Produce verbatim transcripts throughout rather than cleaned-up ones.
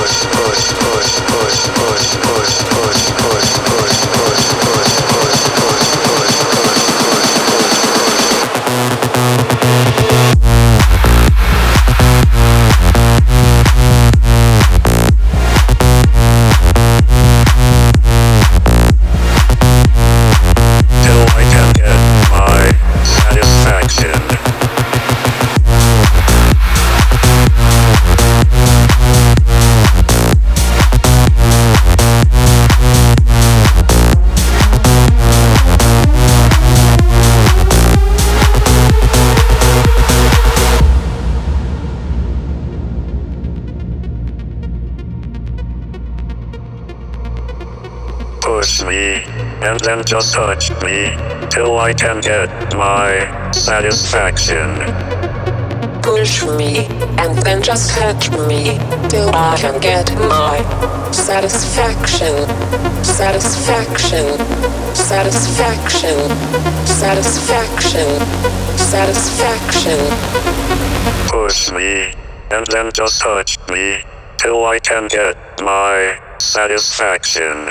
Push me, and then just touch me, till I can get my satisfaction. Push me, and then just touch me, till I can get my satisfaction. Satisfaction. Satisfaction. Satisfaction. Satisfaction. Push me, and then just touch me, till I can get my satisfaction.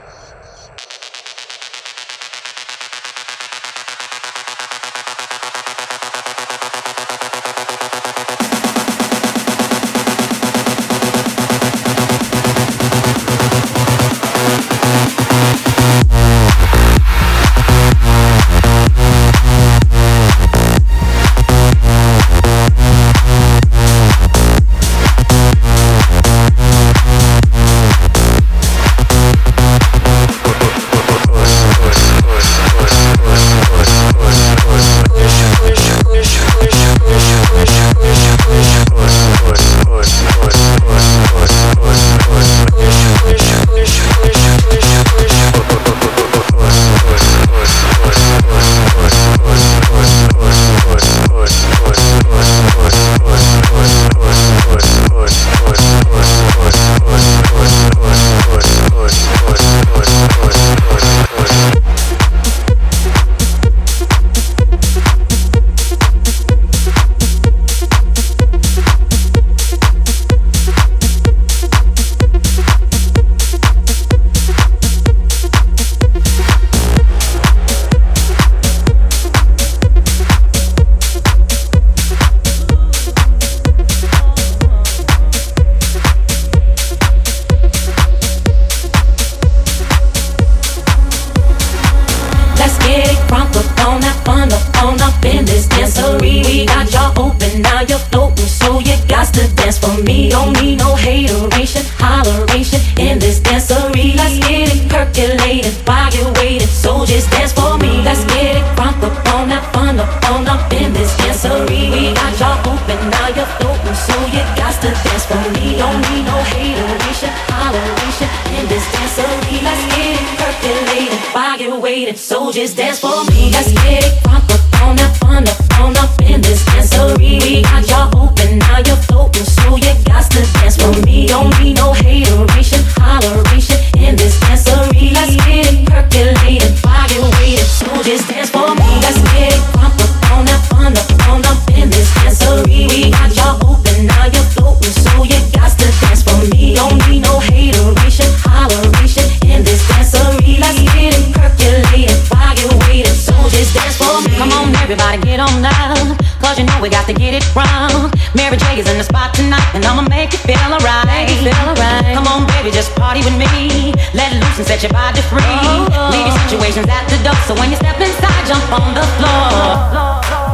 Soldiers dance for me. Let's get it crunk up on that fun up on up in this dancery. We got y'all open, now you're floating, so you got to dance for me. Don't need no hateration, holleration in this dancery. Let's get it percolated, fire waited. Soldiers dance for me. Let's get it crunk up on that fun up on up in this dancery. We got y'all open, now you're floating, so you got to dance for me. Don't need no hateration, holleration in this dancery. Let's get it percolated. Soldiers dance for me. Come on, everybody, get on down, cause you know we got to get it wrong. Mary J is in the spot tonight, and I'ma make you feel alright. Make you feel alright. Come on, baby, just party with me. Let loose and set your body free. Oh, oh. Leave your situations at the door, so when you step inside, jump on the floor.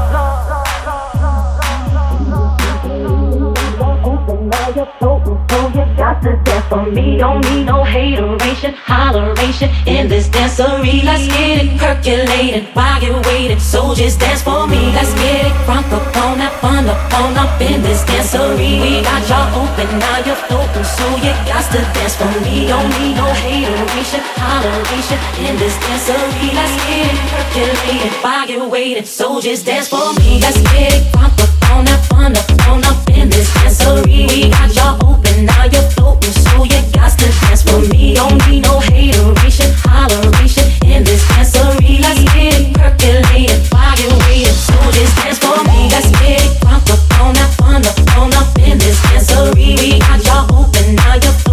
So you got to dance for me. Don't need no hateration, holleration in this dancery. Let's get it percolated while you're waiting. Soldiers dance for me. Let's get it crunk up on that fun up on up in this dancery. We got y'all open, now you're floating, so you got to dance for me. Don't need no hateration, holleration in this dancery. Let's get it percolated while you're waiting. Soldiers dance for me. Let's get it crunk up on that fun up on up in this dancery. We got y'all open, now you're floating, so you got to dance for me. Don't need no hateration, holleration in this dancery. Let's get it percolated while you're waiting. Soldiers dance for me. Let's get it crunk up on that fun up on up in this dancery. We got y'all open, now you're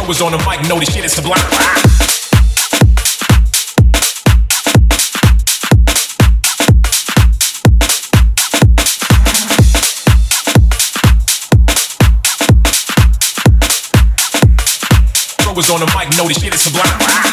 was on the mic, know this shit is sublime. Was on the mic, know this shit is sublime.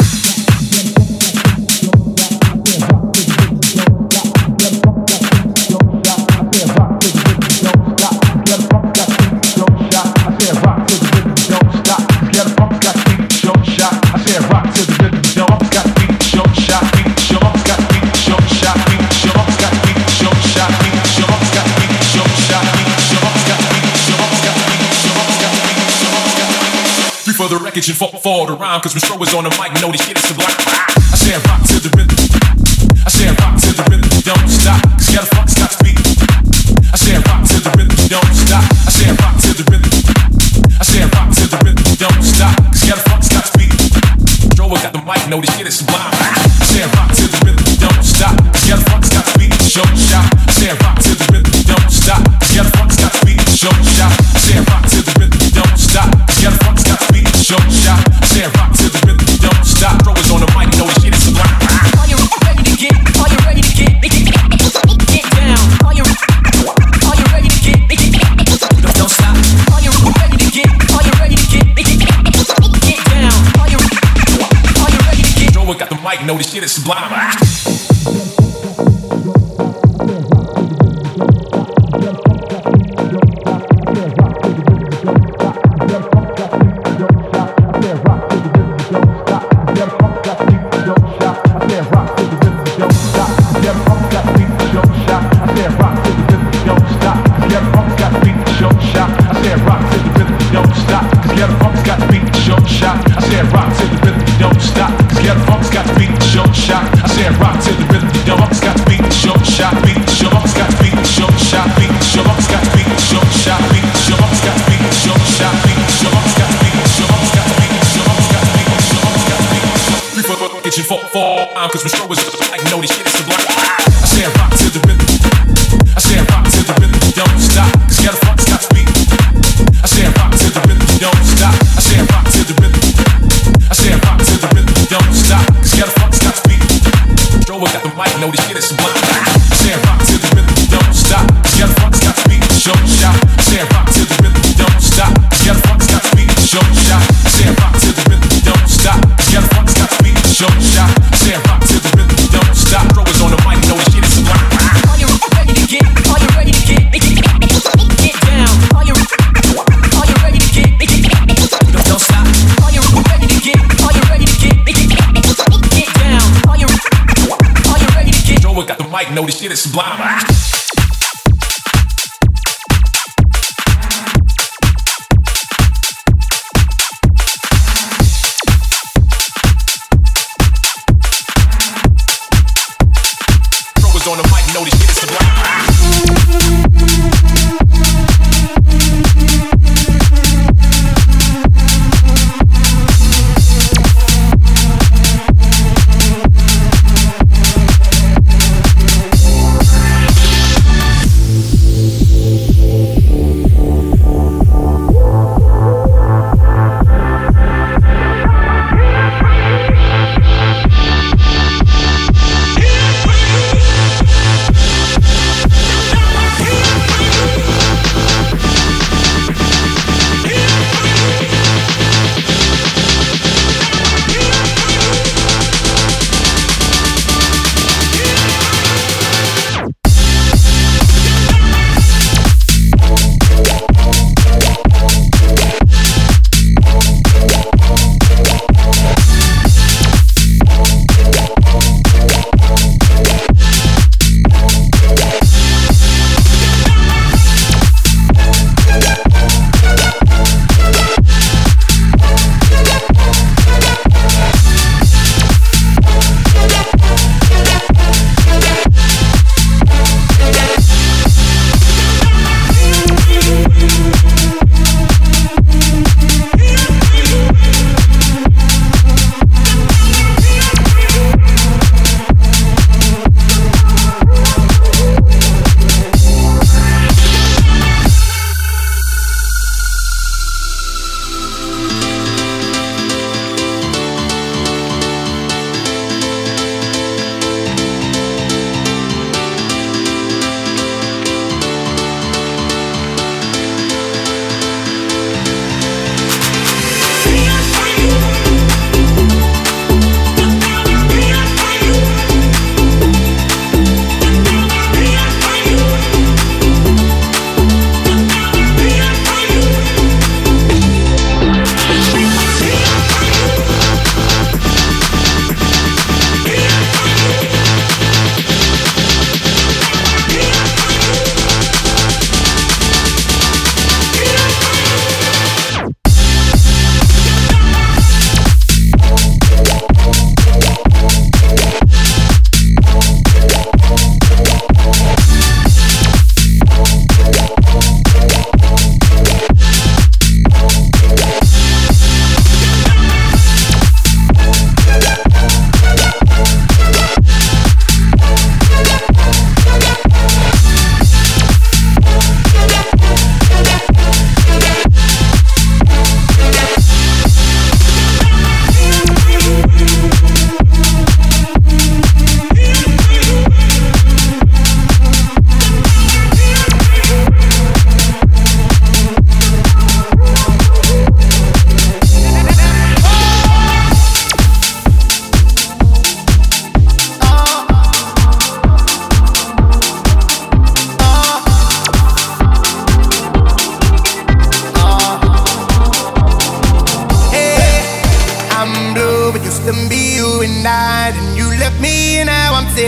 For the wreckage and fall, fall around, cause when Stro was on the mic, know this shit is sublime. I said rock to the rhythm. I said rock to the rhythm, don't stop, cause you gotta fuck stop speed. I said rock to the rhythm, don't stop. I said rock to the rhythm. I said rock to the rhythm, don't stop, cause you gotta fuck stop speed. Stro got the mic, know this shit is sublime. I said rock to the rhythm, don't stop, cause you gotta fuck stop speed. Show shot. I said rock to the rhythm, don't stop, cause you gotta fuck stop speed. Show shot. I said rock to the rhythm, don't stop, cause you gotta fuck stop speed. Show shot. I said rock to the rhythm, don't stop. Throw is on the mic, know the shit is sublime. Are you ready to get? Are you ready to get? Get down. Are you? Are you ready to get? Don't, don't stop. Are you ready to get? Are you ready to get? Get down. Are you? Are you ready to get? Throw got the mic, know the shit is sublime. Fall, fall, cause when Stro was like, know this shit is sublime. I said rock to the rhythm. I said rock to the rhythm, don't stop, cause you gotta fuck stop speed. I said rock to the rhythm, don't stop. I said rock to the rhythm. I said rock to the rhythm, don't stop, cause you gotta fuck stop speed. Stro got the mic, know this shit is sublime. I said rock to the rhythm, don't stop, cause you gotta fuck stop speed. Show shot. I said rock to the rhythm, don't stop, cause you gotta fuck stop speed. Show shot. I said rock to the rhythm, don't stop, cause you gotta fuck stop speed. Show shot. I said rock to the rhythm, don't stop. Throw is on the mic, know this shit is sublime. Are you ready to get? Are you ready to get? Get down. Are you? Are you ready to get? Don't, don't stop. Are you ready to get? Are you ready to get? Get down. Are you? Are you ready to get? Throw got the mic, know this shit is sublime. On the mic, know this shit is sublime.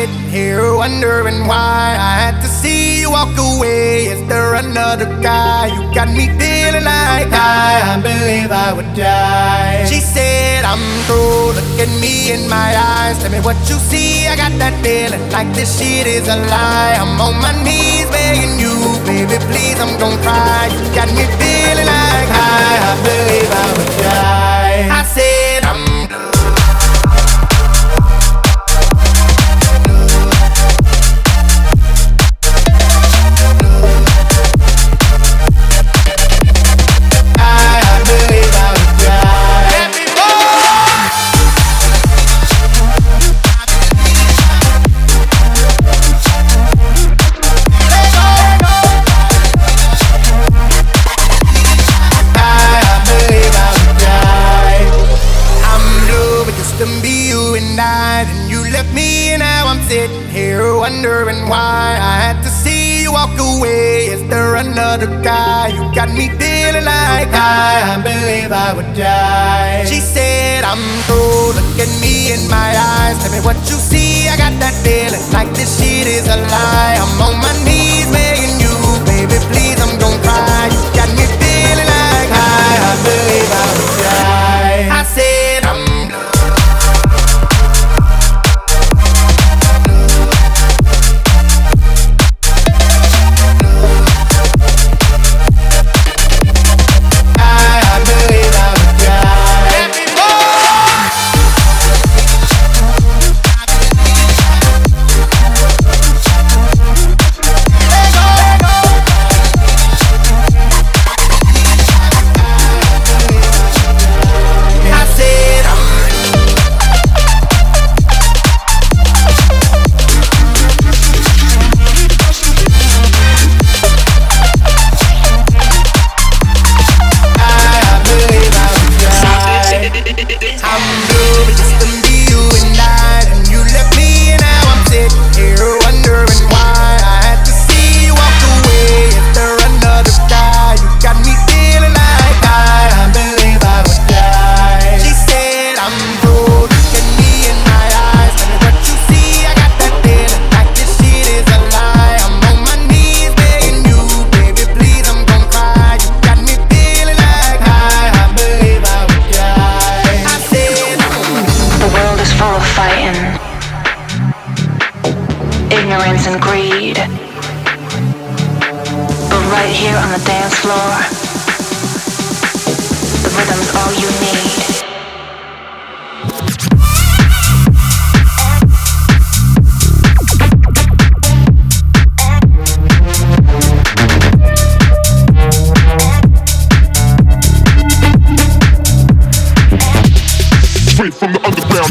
sitting here wondering why I had to see you walk away. Is there another guy? You got me feeling like I, I believe I would die. She said I'm through, look at me in my eyes, tell me what you see. I got that feeling like this shit is a lie. I'm on my knees begging you, baby please, I'm gon' cry. You got me feeling like I, I believe I would die. I said I'm wondering why I had to see you walk away. Is there another guy? You got me feeling like I, I believe I would die. She said I'm through, look at me in my eyes, tell me what you see. I got that feeling like this shit is a lie. I'm on my knees begging you, baby please, I'm gon' cry. You got me feeling like I, I believe I would die. I said I'm and greed. But right here on the dance floor, the rhythm's all you need. Straight from the underground.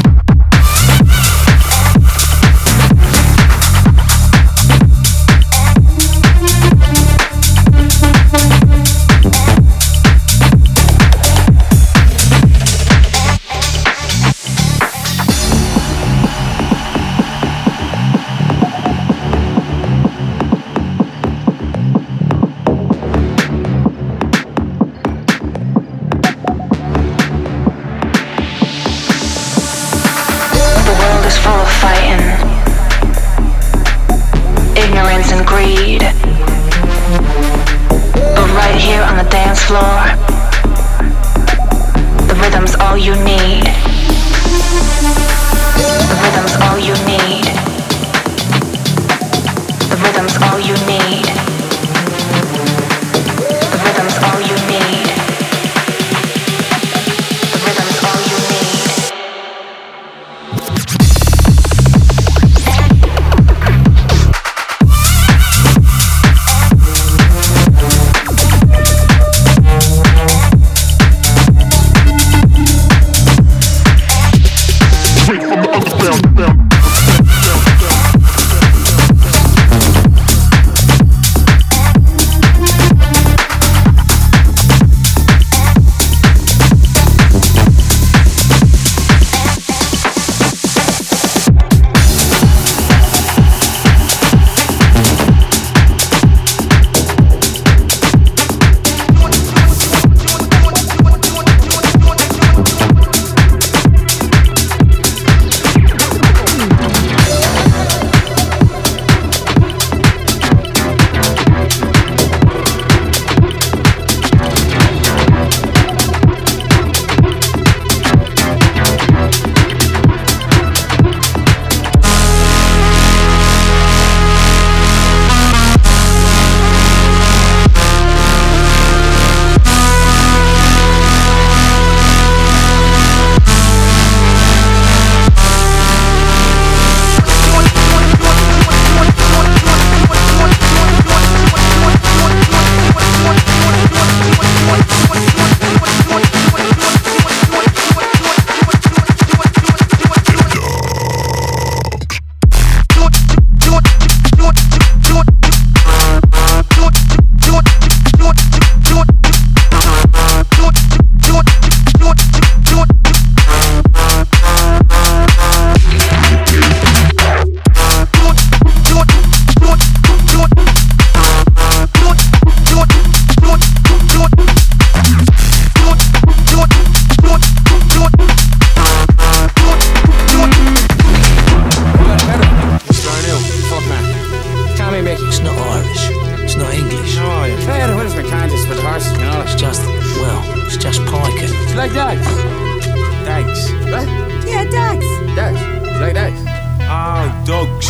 with the horses, you know? It's just, well, it's just piking. It's like dogs. Dogs. What? Yeah, dogs. Dogs. It's like dogs. Oh, dogs.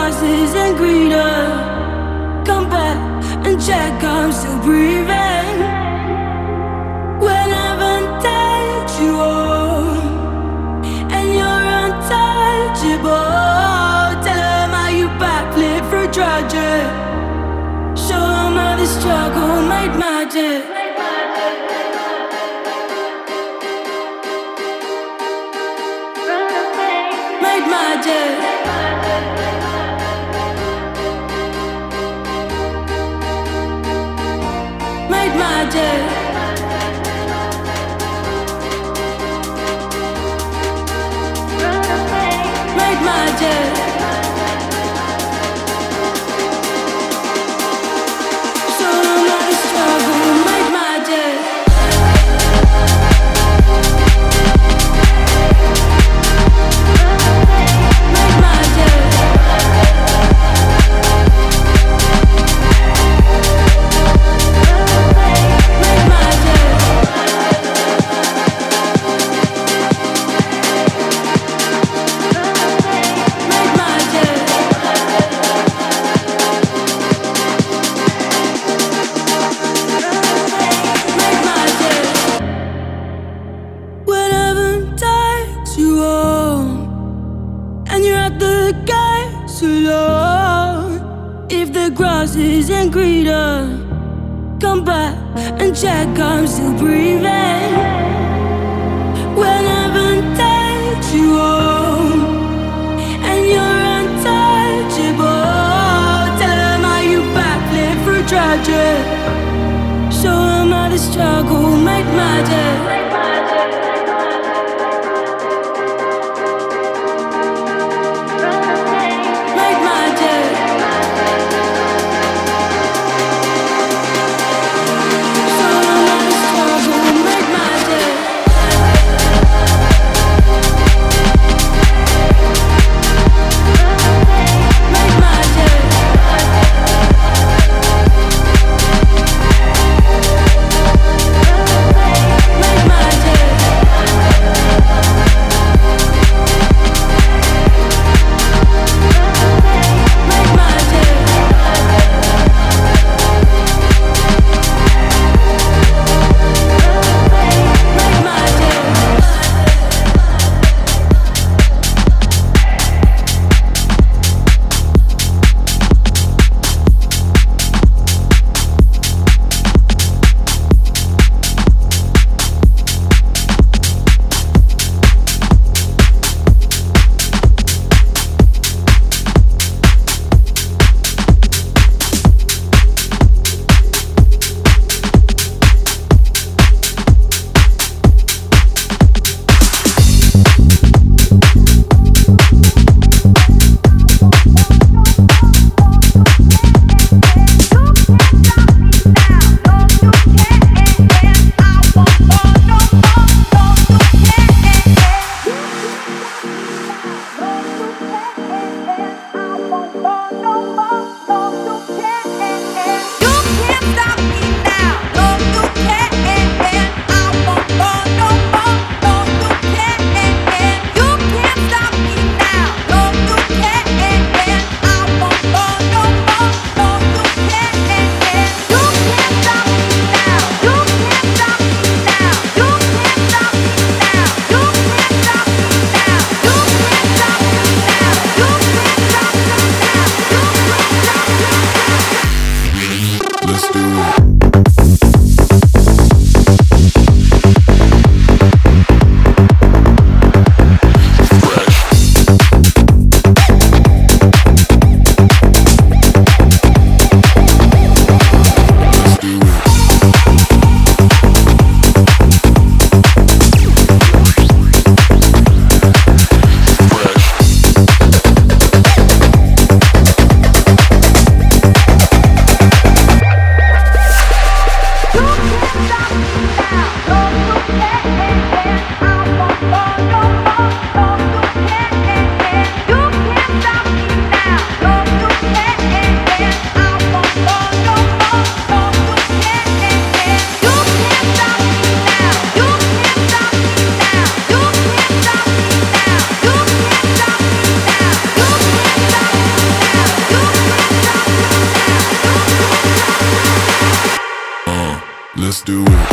grasses and greener. Come back and check I'm still breathing. When I've untied you all, and you're untouchable. Tell them how you backflip for tragic. Show them how the struggle made magic. Made magic. Made magic. Made magic. So I'm out of struggle. Made magic. Made magic. Made magic. Made magic. Made magic. Whatever takes you home, and you're at the gates alone. If the grass isn't greener, come back and check I'm still breathing. Whenever takes you home, and you're untouchable. Tell them how you backflip for tragic. Show them how the struggle made magic. Made magic. Show them how the struggle made magic. Made magic. Made magic. do it.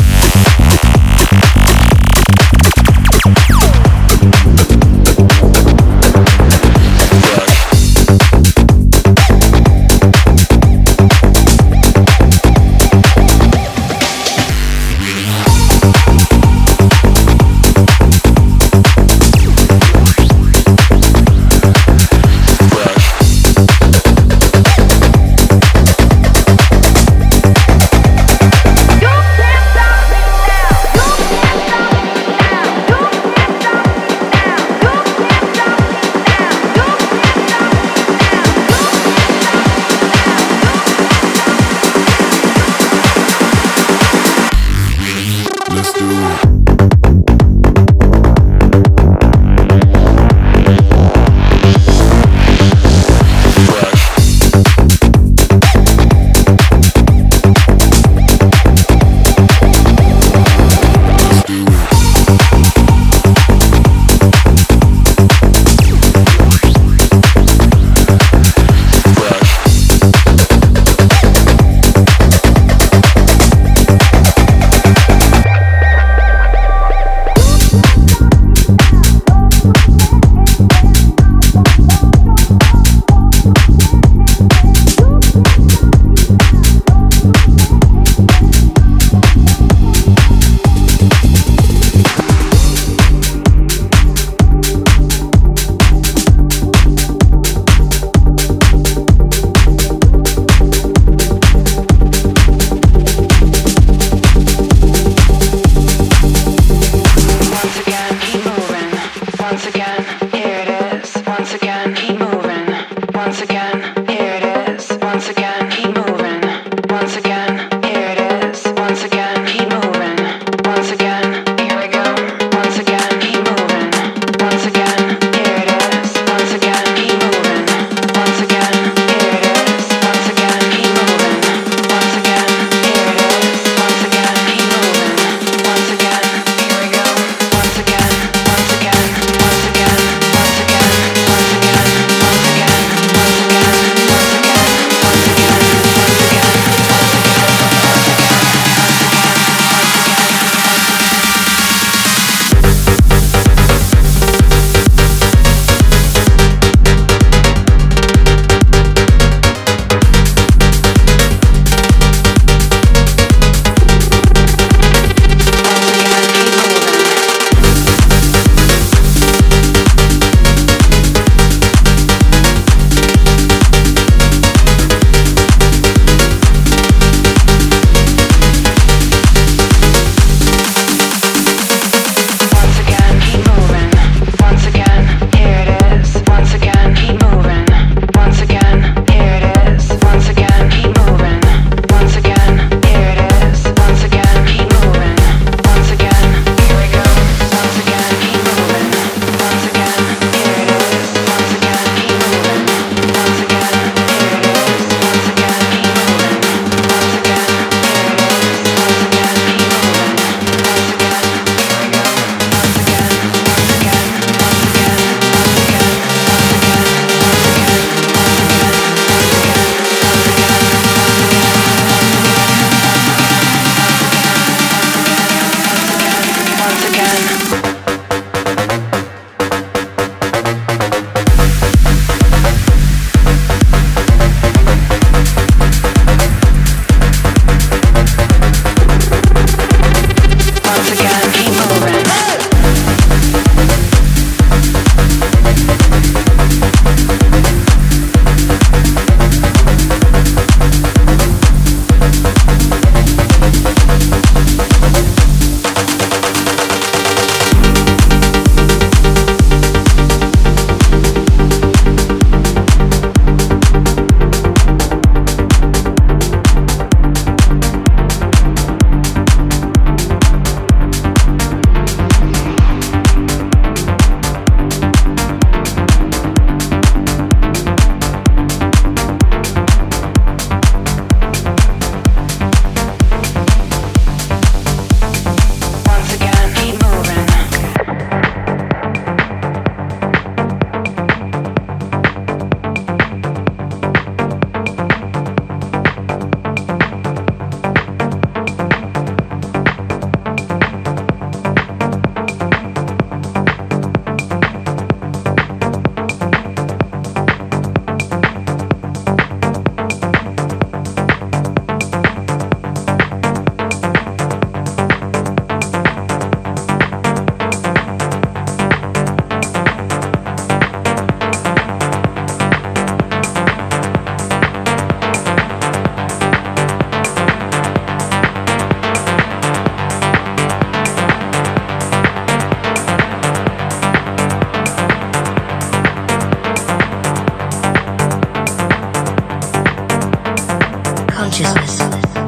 Consciousness.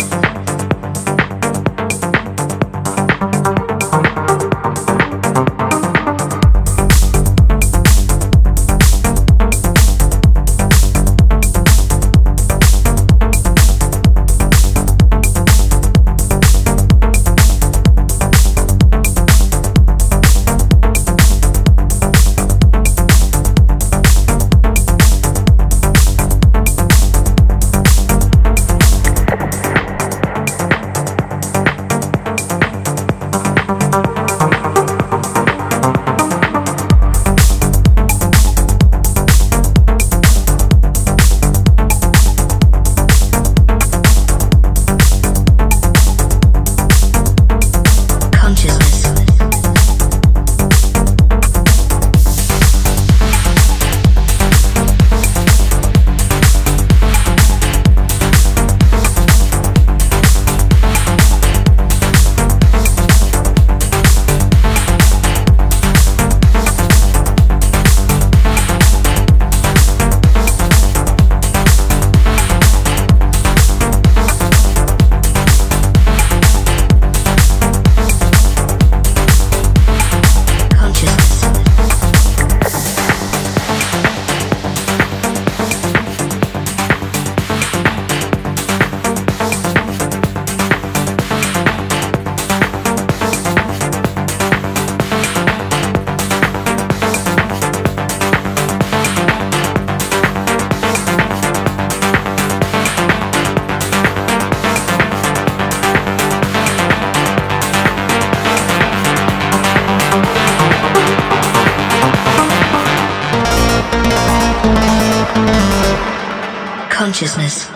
Consciousness.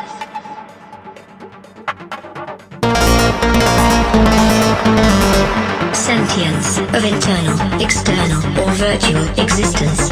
Sentience of internal, external, or virtual existence.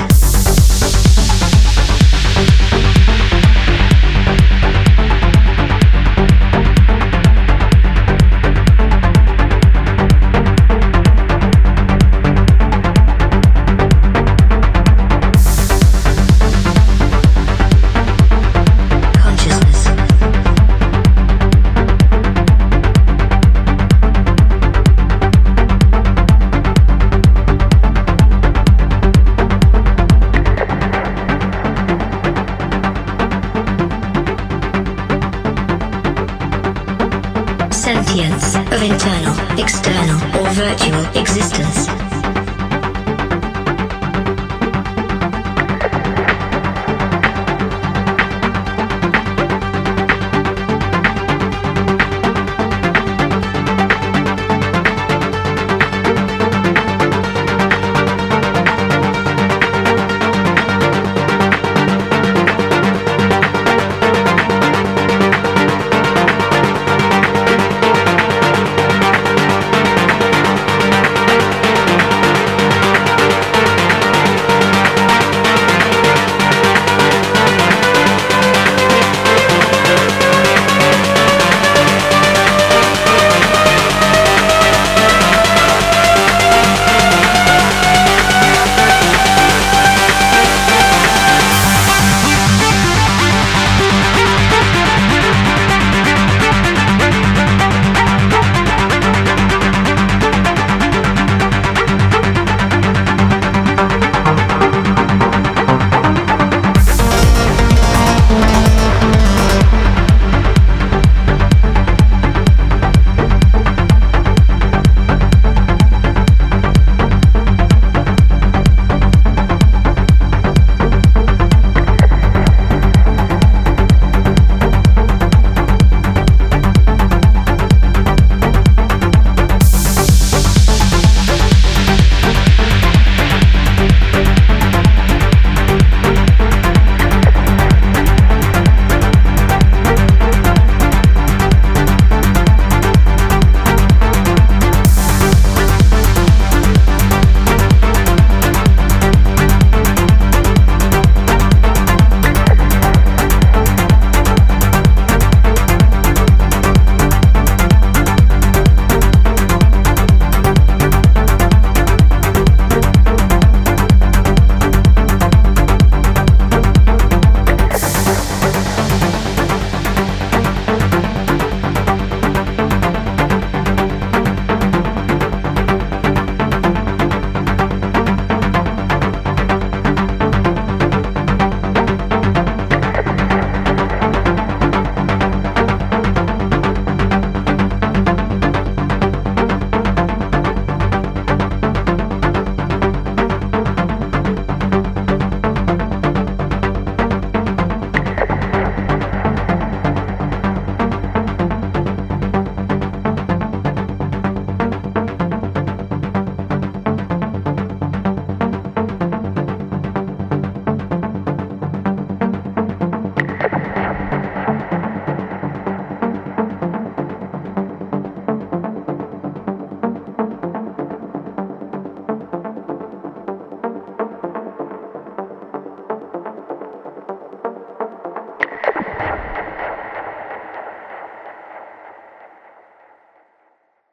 Sentience of internal, external, or virtual existence.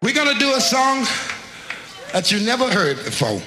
We're gonna do a song that you never heard before.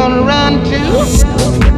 gonna run to?